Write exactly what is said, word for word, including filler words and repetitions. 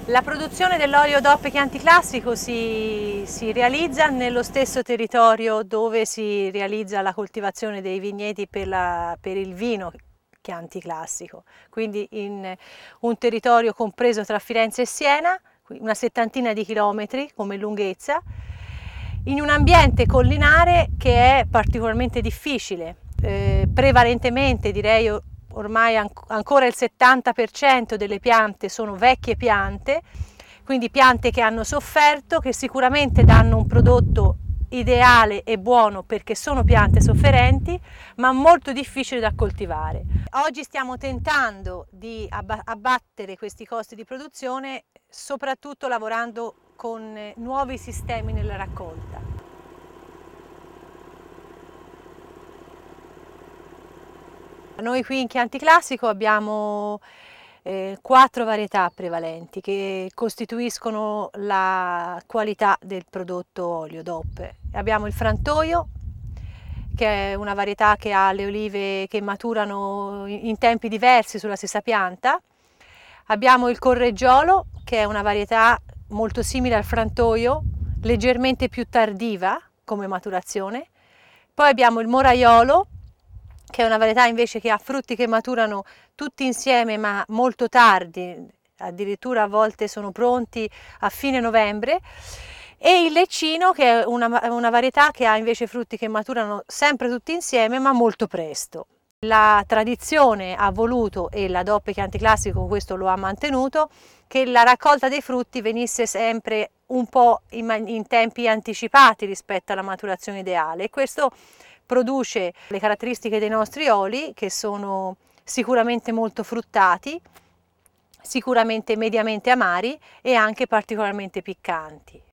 La produzione dell'olio D O P Chianti Classico si, si realizza nello stesso territorio dove si realizza la coltivazione dei vigneti per, la, per il vino Chianti Classico, quindi in un territorio compreso tra Firenze e Siena, una settantina di chilometri come lunghezza, in un ambiente collinare che è particolarmente difficile, eh, prevalentemente direi ormai ancora il settanta per cento delle piante sono vecchie piante, quindi piante che hanno sofferto, che sicuramente danno un prodotto ideale e buono perché sono piante sofferenti, ma molto difficili da coltivare. Oggi stiamo tentando di abbattere questi costi di produzione, soprattutto lavorando con nuovi sistemi nella raccolta. Noi qui in Chianti Classico abbiamo eh, quattro varietà prevalenti che costituiscono la qualità del prodotto olio D O P. Abbiamo il Frantoio, che è una varietà che ha le olive che maturano in tempi diversi sulla stessa pianta. Abbiamo il Correggiolo, che è una varietà molto simile al Frantoio, leggermente più tardiva come maturazione. Poi abbiamo il Moraiolo, che è una varietà invece che ha frutti che maturano tutti insieme ma molto tardi, addirittura a volte sono pronti a fine novembre, e il Leccino, che è una, una varietà che ha invece frutti che maturano sempre tutti insieme ma molto presto. La tradizione ha voluto, e la D O P Chianti Classico questo lo ha mantenuto, che la raccolta dei frutti venisse sempre un po' in, in tempi anticipati rispetto alla maturazione ideale, e questo produce le caratteristiche dei nostri oli, che sono sicuramente molto fruttati, sicuramente mediamente amari e anche particolarmente piccanti.